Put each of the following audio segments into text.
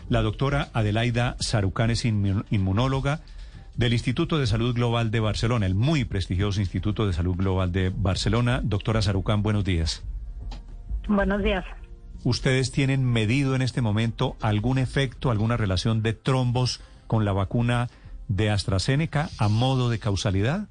La doctora Adelaida Sarucán es inmunóloga del Instituto de Salud Global de Barcelona, el muy prestigioso Instituto de Salud Global de Barcelona. Doctora Sarucán, buenos días. Buenos días. ¿Ustedes tienen medido en este momento algún efecto, alguna relación de trombos con la vacuna de AstraZeneca a modo de causalidad?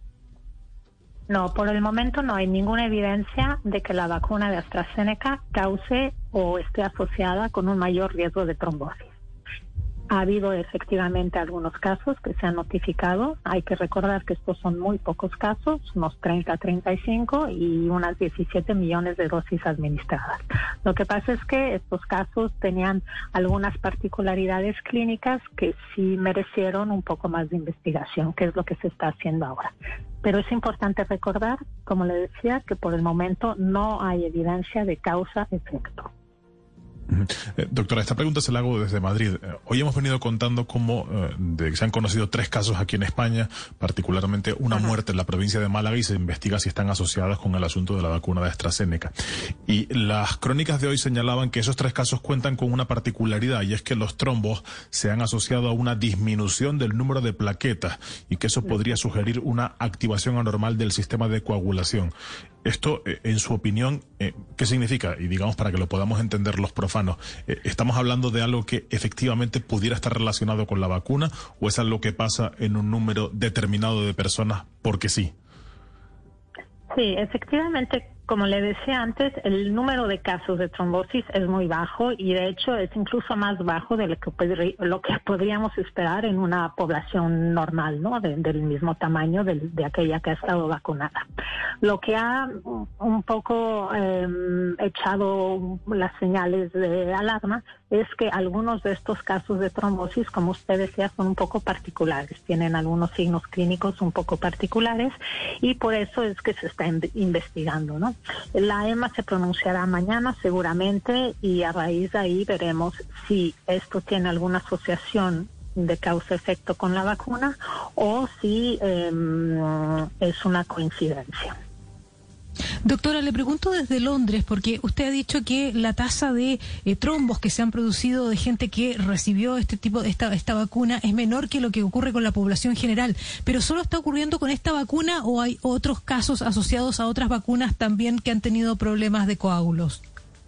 No, por el momento no hay ninguna evidencia de que la vacuna de AstraZeneca cause o esté asociada con un mayor riesgo de trombosis. Ha habido efectivamente algunos casos que se han notificado. Hay que recordar que estos son muy pocos casos, unos 30 35 y unas 17 millones de dosis administradas. Lo que pasa es que estos casos tenían algunas particularidades clínicas que sí merecieron un poco más de investigación, que es lo que se está haciendo ahora. Pero es importante recordar, como le decía, que por el momento no hay evidencia de causa-efecto. Doctora, esta pregunta se la hago desde Madrid. Hoy hemos venido contando cómo se han conocido 3 casos aquí en España, particularmente una muerte en la provincia de Málaga, y se investiga si están asociadas con el asunto de la vacuna de AstraZeneca. Y las crónicas de hoy señalaban que esos 3 casos cuentan con una particularidad, y es que los trombos se han asociado a una disminución del número de plaquetas y que eso podría sugerir una activación anormal del sistema de coagulación. Esto, en su opinión, ¿qué significa? Y digamos, para que lo podamos entender los profanos, ¿estamos hablando de algo que efectivamente pudiera estar relacionado con la vacuna o es algo que pasa en un número determinado de personas porque sí? Sí, efectivamente, como le decía antes, el número de casos de trombosis es muy bajo y de hecho es incluso más bajo de lo que podríamos esperar en una población normal, ¿no? Del mismo tamaño de aquella que ha estado vacunada. Lo que ha un poco echado las señales de alarma es que algunos de estos casos de trombosis, como usted decía, son un poco particulares, tienen algunos signos clínicos un poco particulares y por eso es que se está investigando, ¿no? La EMA se pronunciará mañana seguramente y a raíz de ahí veremos si esto tiene alguna asociación de causa-efecto con la vacuna o si es una coincidencia. Doctora, le pregunto desde Londres, porque usted ha dicho que la tasa de trombos que se han producido de gente que recibió esta vacuna es menor que lo que ocurre con la población general, pero ¿solo está ocurriendo con esta vacuna o hay otros casos asociados a otras vacunas también que han tenido problemas de coágulos?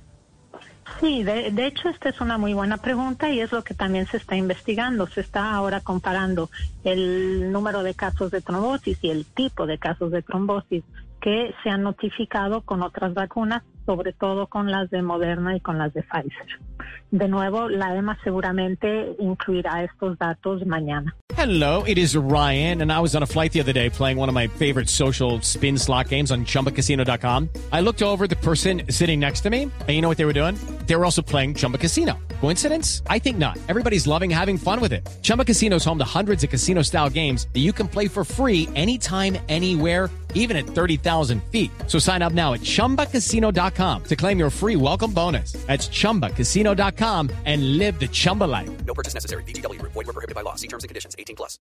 Sí, de hecho esta es una muy buena pregunta y es lo que también se está investigando. Se está ahora comparando el número de casos de trombosis y el tipo de casos de trombosis que se han notificado con otras vacunas, sobre todo con las de Moderna y con las de Pfizer. De nuevo, la EMA seguramente incluirá estos datos mañana. Hello, it is Ryan, and I was on a flight the other day playing one of my favorite social spin slot games on ChumbaCasino.com. I looked over at the person sitting next to me, and you know what they were doing? They were also playing Chumba Casino. Coincidence? I think not. Everybody's loving having fun with it. Chumba Casino is home to hundreds of casino-style games that you can play for free anytime, anywhere, even at 30,000 feet. So sign up now at ChumbaCasino.com to claim your free welcome bonus. That's ChumbaCasino.com and live the Chumba life. No purchase necessary. VGW Group. Void where prohibited by law. See terms and conditions. 18+.